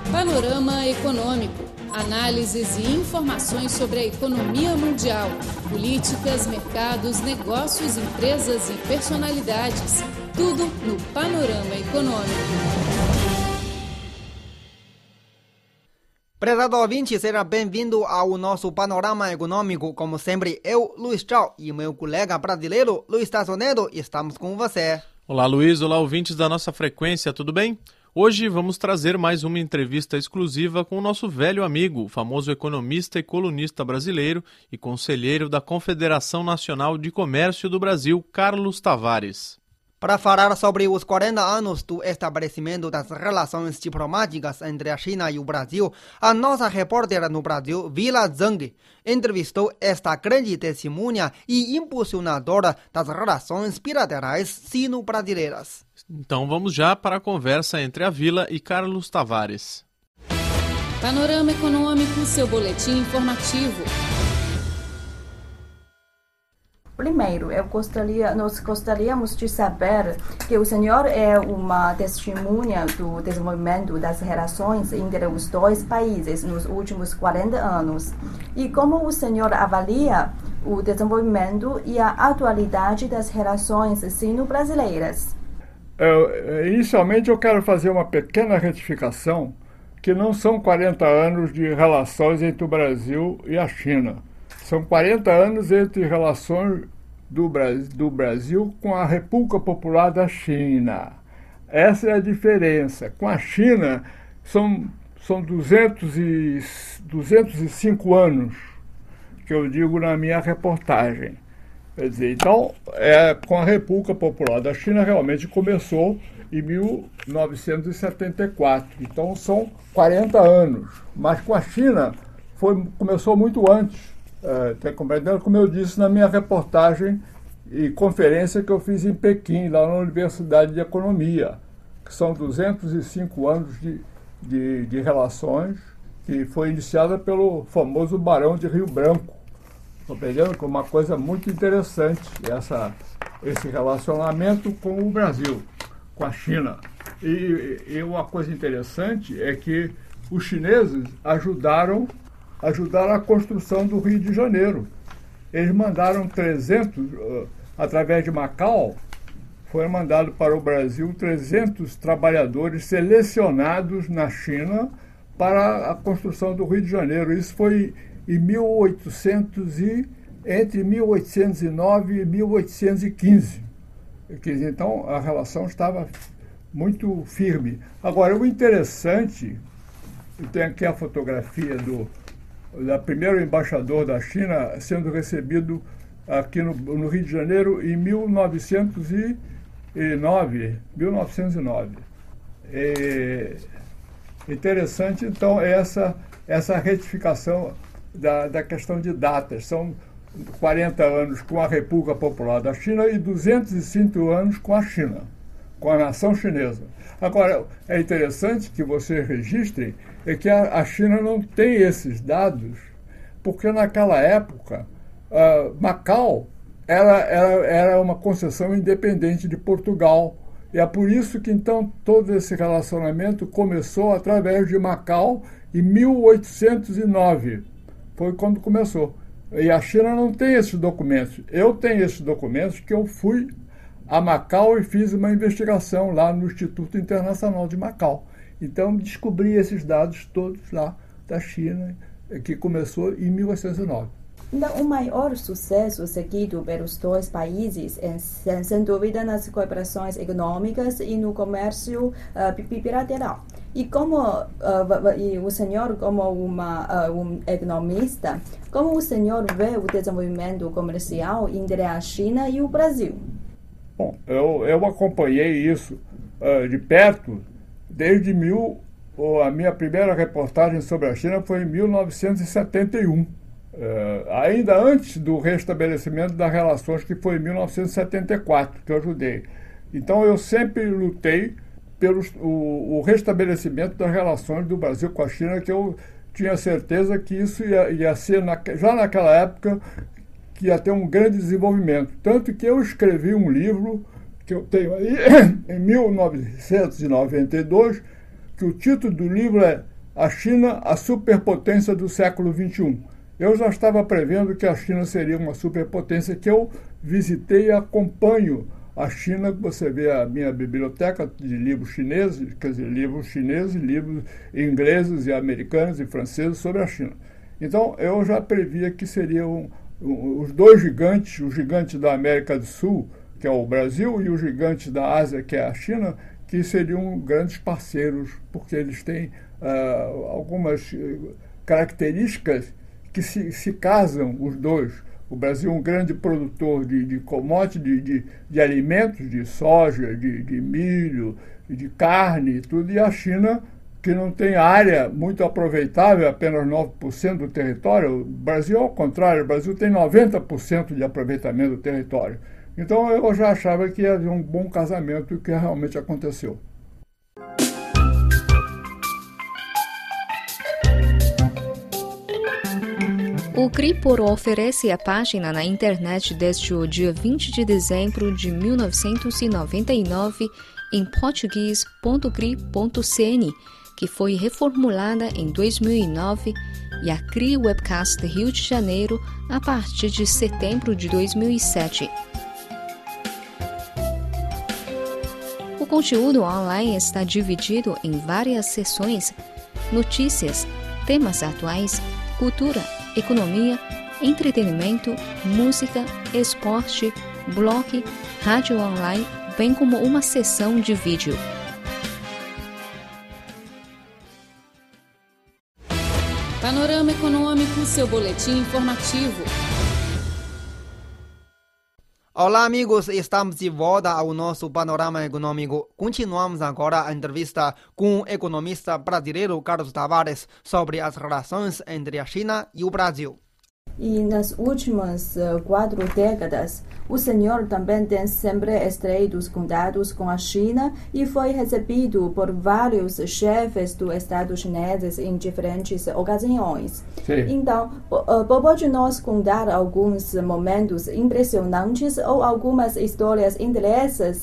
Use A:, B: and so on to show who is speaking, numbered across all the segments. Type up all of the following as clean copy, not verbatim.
A: Panorama Econômico. Análises e informações sobre a economia mundial, políticas, mercados, negócios, empresas e personalidades. Tudo no Panorama Econômico.
B: Prezado ouvinte, seja bem-vindo ao nosso Panorama Econômico. Como sempre, eu, Luiz Chao, e meu colega brasileiro, Luiz Tassonedo, estamos com você.
C: Olá, Luiz. Olá, ouvintes da nossa frequência, tudo bem? Hoje vamos trazer mais uma entrevista exclusiva com o nosso velho amigo, o famoso economista e colunista brasileiro e conselheiro da Confederação Nacional de Comércio do Brasil, Carlos Tavares.
B: Para falar sobre os 40 anos do estabelecimento das relações diplomáticas entre a China e o Brasil, a nossa repórter no Brasil, Vila Zhang, entrevistou esta grande testemunha e impulsionadora das relações bilaterais sino-brasileiras.
C: Então vamos já para a conversa entre a Vila e Carlos Tavares.
A: Panorama Econômico, seu boletim informativo.
D: Primeiro, nós gostaríamos de saber que o senhor é uma testemunha do desenvolvimento das relações entre os dois países nos últimos 40 anos. E como o senhor avalia o desenvolvimento e a atualidade das relações sino-brasileiras?
E: Inicialmente, eu quero fazer uma pequena retificação, que não são 40 anos de relações entre o Brasil e a China. São 40 anos entre relações do Brasil com a República Popular da China. Essa é a diferença. Com a China, são 205 anos, que eu digo na minha reportagem. Quer dizer, então, com a República Popular da China, realmente começou em 1974. Então, são 40 anos. Mas com a China, começou muito antes. Como eu disse na minha reportagem e conferência que eu fiz em Pequim, lá na Universidade de Economia, que são 205 anos de relações, que foi iniciada pelo famoso Barão de Rio Branco. Compreendendo que é uma coisa muito interessante esse relacionamento com o Brasil, com a China. E uma coisa interessante é que os chineses ajudaram a construção do Rio de Janeiro. Eles mandaram 300, através de Macau, foi mandado para o Brasil 300 trabalhadores selecionados na China para a construção do Rio de Janeiro. Isso foi entre 1809 e 1815. Então, a relação estava muito firme. Agora, o interessante, eu tenho aqui a fotografia da primeiro embaixador da China sendo recebido aqui no Rio de Janeiro em 1909. Interessante, então, essa retificação da questão de datas. São 40 anos com a República Popular da China e 205 anos com a China, com a nação chinesa. Agora, é interessante que vocês registrem que a China não tem esses dados, porque naquela época, Macau era uma concessão independente de Portugal. E é por isso que, então, todo esse relacionamento começou através de Macau em 1809. Foi quando começou. E a China não tem esses documentos. Eu tenho esses documentos que eu fui a Macau e fiz uma investigação lá no Instituto Internacional de Macau. Então, descobri esses dados todos lá da China, que começou em 1809.
D: Então, o maior sucesso seguido pelos dois países é, sem dúvida, nas cooperações econômicas e no comércio bilateral. E como o senhor, como um economista, como o senhor vê o desenvolvimento comercial entre a China e o Brasil?
E: Bom, eu acompanhei isso de perto desde a minha primeira reportagem sobre a China foi em 1971. Ainda antes do restabelecimento das relações, que foi em 1974, que eu ajudei. Então, eu sempre lutei pelo o restabelecimento das relações do Brasil com a China, que eu tinha certeza que isso ia ser, já naquela época, que ia ter um grande desenvolvimento. Tanto que eu escrevi um livro, que eu tenho aí, em 1992, que o título do livro é a China, a superpotência do século XXI. Eu já estava prevendo que a China seria uma superpotência, que eu visitei e acompanho a China. Você vê a minha biblioteca de livros chineses, quer dizer, livros ingleses e americanos e franceses sobre a China. Então, eu já previa que seriam os dois gigantes, o gigante da América do Sul, que é o Brasil, e o gigante da Ásia, que é a China, que seriam grandes parceiros, porque eles têm algumas características que se casam, os dois. O Brasil é um grande produtor de commodities, de alimentos, de soja, de milho, de carne e tudo, e a China, que não tem área muito aproveitável, apenas 9% do território. O Brasil, ao contrário, o Brasil tem 90% de aproveitamento do território. Então, eu já achava que havia um bom casamento, o que realmente aconteceu.
F: O Cripor oferece a página na internet desde o dia 20 de dezembro de 1999 em português.cri.cn, que foi reformulada em 2009, e a CRI Webcast Rio de Janeiro a partir de setembro de 2007. O conteúdo online está dividido em várias seções: notícias, temas atuais, cultura, economia, entretenimento, música, esporte, blog, rádio online, bem como uma seção de vídeo.
A: Panorama Econômico, seu boletim informativo.
B: Olá, amigos, estamos de volta ao nosso Panorama Econômico. Continuamos agora a entrevista com o economista brasileiro Carlos Tavares sobre as relações entre a China e o Brasil.
D: E nas últimas 4 décadas, o senhor também tem sempre estreitos contatos com a China e foi recebido por vários chefes do Estado chineses em diferentes ocasiões.
E: Sim.
D: Então, pode nos contar alguns momentos impressionantes ou algumas histórias interessantes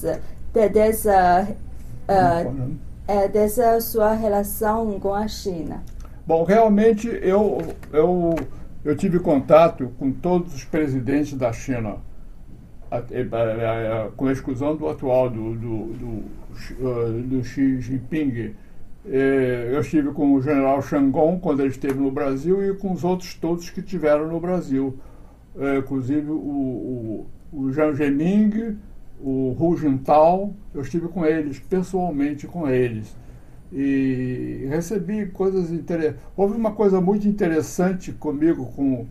D: dessa sua relação com a China?
E: Bom, realmente eu tive contato com todos os presidentes da China, com a exclusão do atual, do Xi Jinping. Eu estive com o general Zhang Gong quando ele esteve no Brasil e com os outros todos que estiveram no Brasil. Inclusive o Jiang Zemin, o Hu Jintao, eu estive com eles, pessoalmente com eles. E recebi coisas interessantes. Houve uma coisa muito interessante comigo com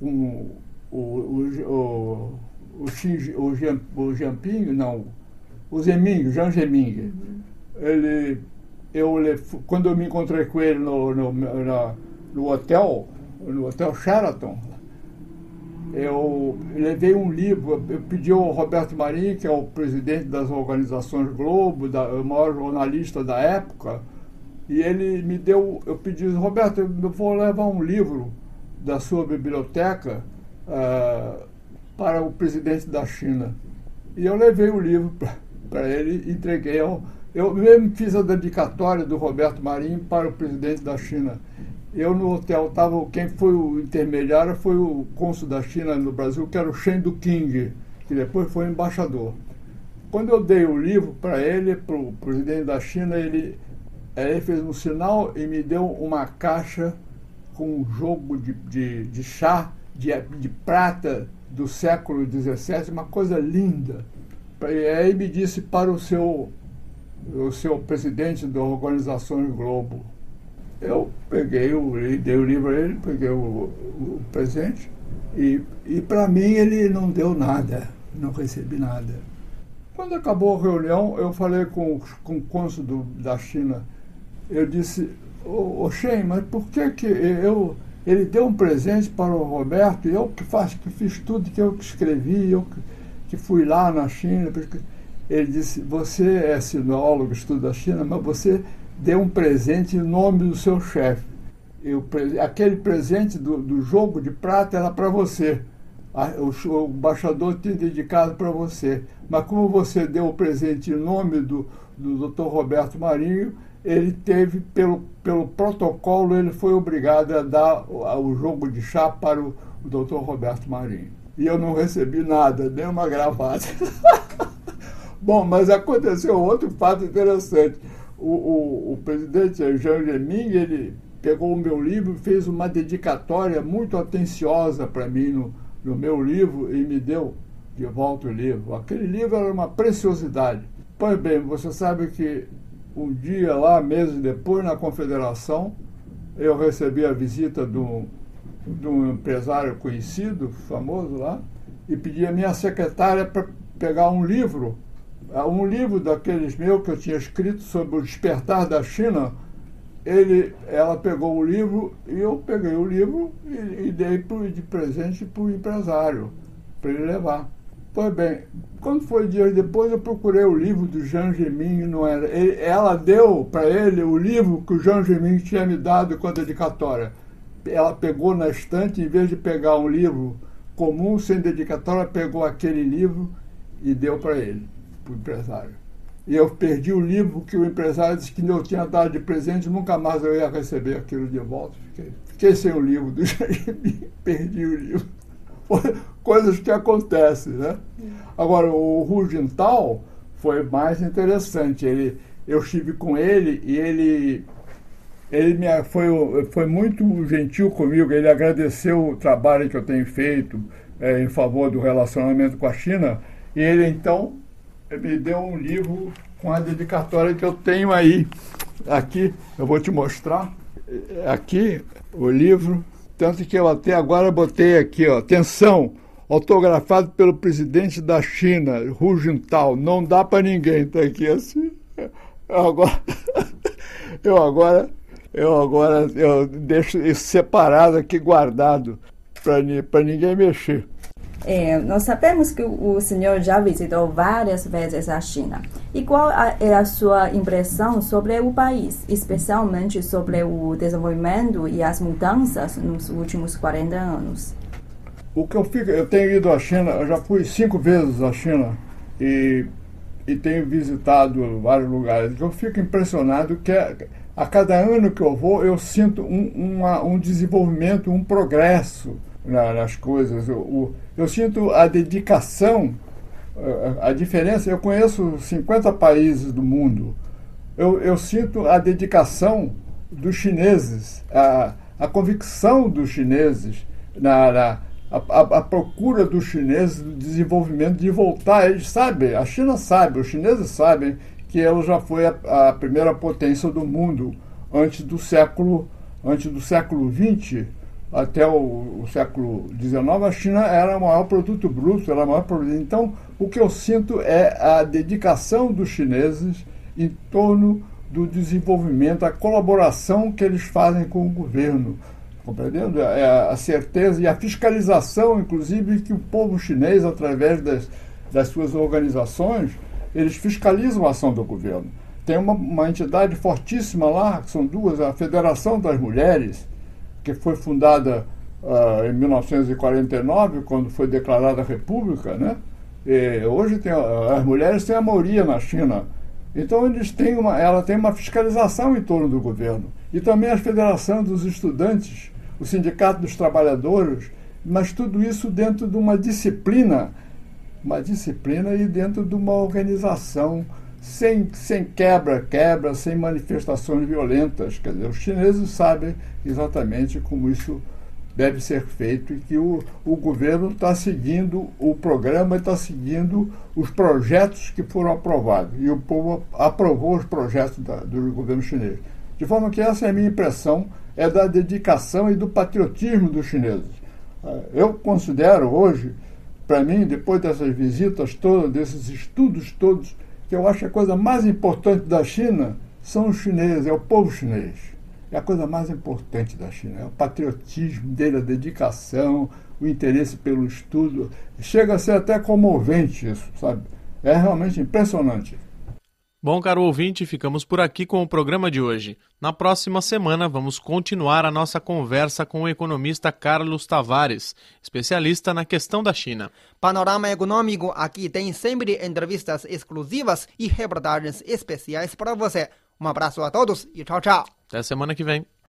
E: o Jiang Zemin. Quando eu me encontrei com ele no hotel Sheraton, eu levei um livro, eu pedi ao Roberto Marinho, que é o presidente das organizações Globo, o maior jornalista da época, e ele me deu, eu pedi, Roberto, eu vou levar um livro da sua biblioteca para o presidente da China. E eu levei o livro para ele e entreguei eu mesmo fiz a dedicatória do Roberto Marinho para o presidente da China. Eu no hotel quem foi o intermediário foi o cônsul da China no Brasil, que era o Shen Duqing, que depois foi embaixador. Quando eu dei o livro para ele, para o presidente da China, ele fez um sinal e me deu uma caixa com um jogo de chá de prata do século XVII, uma coisa linda. E aí me disse para o seu presidente da Organizações Globo. Eu dei o livro a ele, peguei o presente e para mim ele não deu nada, não recebi nada. Quando acabou a reunião, eu falei com o cônsul da China. Eu disse, ô Shen, mas por que ele deu um presente para o Roberto e eu que fiz tudo, que eu que escrevi, eu que fui lá na China? Ele disse, você é sinólogo, estuda a China, mas você deu um presente em nome do seu chefe. Aquele presente do jogo de prata era para você. O embaixador tinha dedicado para você. Mas como você deu o presente em nome do Dr. Roberto Marinho, ele teve, pelo protocolo, ele foi obrigado a dar o jogo de chá para o Dr. Roberto Marinho. E eu não recebi nada, nem uma gravata. Bom, mas aconteceu outro fato interessante. O presidente Jiang Zemin, ele pegou o meu livro e fez uma dedicatória muito atenciosa para mim no meu livro e me deu de volta o livro. Aquele livro era uma preciosidade. Pois bem, você sabe que um dia lá, meses depois, na Confederação, eu recebi a visita de um empresário conhecido, famoso lá, e pedi a minha secretária para pegar um livro daqueles meus que eu tinha escrito sobre o despertar da China. Ela pegou o livro e eu peguei o livro e dei de presente para o empresário, para ele levar. Pois bem, quando foi dias depois, eu procurei o livro do Jiang Zemin e não era. Ela deu para ele o livro que o Jiang Zemin tinha me dado com a dedicatória. Ela pegou na estante, em vez de pegar um livro comum, sem dedicatória, pegou aquele livro e deu para ele, para o empresário. E eu perdi o livro que o empresário disse que eu tinha dado de presente, nunca mais eu ia receber aquilo de volta. Fiquei sem o livro do Jiang Zemin, perdi o livro. Coisas que acontecem, né? Agora, o Hu Jintao foi mais interessante. Eu estive com ele e ele foi muito gentil comigo. Ele agradeceu o trabalho que eu tenho feito em favor do relacionamento com a China. E ele, então, me deu um livro com a dedicatória que eu tenho aí. Aqui, eu vou te mostrar. Aqui, o livro. Tanto que eu até agora botei aqui, ó, atenção, autografado pelo presidente da China, Hu Jintao, não dá para ninguém, tá aqui assim. Eu deixo isso separado aqui, guardado, para ninguém mexer.
D: Nós sabemos que o senhor já visitou várias vezes a China. E qual é a sua impressão sobre o país, especialmente sobre o desenvolvimento e as mudanças nos últimos 40 anos?
E: Eu tenho ido à China, eu já fui 5 vezes à China e tenho visitado vários lugares. Eu fico impressionado que a cada ano que eu vou, eu sinto um desenvolvimento, um progresso nas coisas. Eu sinto a dedicação, a diferença. Eu conheço 50 países do mundo. Eu sinto a dedicação dos chineses, a convicção dos chineses, a procura dos chineses do desenvolvimento, de voltar. Eles sabem, a China sabe, os chineses sabem que ela já foi a primeira potência do mundo antes do século XX. Até o século XIX, a China era o maior produto bruto, era a maior produto. Então, o que eu sinto é a dedicação dos chineses em torno do desenvolvimento, a colaboração que eles fazem com o governo, compreendendo? A certeza e a fiscalização, inclusive, que o povo chinês, através das suas organizações, eles fiscalizam a ação do governo. Tem uma entidade fortíssima lá, que são duas, a Federação das Mulheres, que foi fundada em 1949, quando foi declarada a República, né? E hoje as mulheres têm a maioria na China. Então ela tem uma fiscalização em torno do governo. E também a Federação dos Estudantes, o Sindicato dos Trabalhadores, mas tudo isso dentro de uma disciplina e dentro de uma organização sem quebra, sem manifestações violentas. Quer dizer, os chineses sabem exatamente como isso deve ser feito e que o governo está seguindo o programa, está seguindo os projetos que foram aprovados. E o povo aprovou os projetos do governo chinês. De forma que essa é a minha impressão, é da dedicação e do patriotismo dos chineses. Eu considero hoje, para mim, depois dessas visitas todas, desses estudos todos, que eu acho que a coisa mais importante da China são os chineses, é o povo chinês. É a coisa mais importante da China, é o patriotismo dele, a dedicação, o interesse pelo estudo. Chega a ser até comovente isso, sabe? É realmente impressionante.
C: Bom, caro ouvinte, ficamos por aqui com o programa de hoje. Na próxima semana, vamos continuar a nossa conversa com o economista Carlos Tavares, especialista na questão da China.
B: Panorama Econômico aqui tem sempre entrevistas exclusivas e reportagens especiais para você. Um abraço a todos e tchau, tchau.
C: Até semana que vem.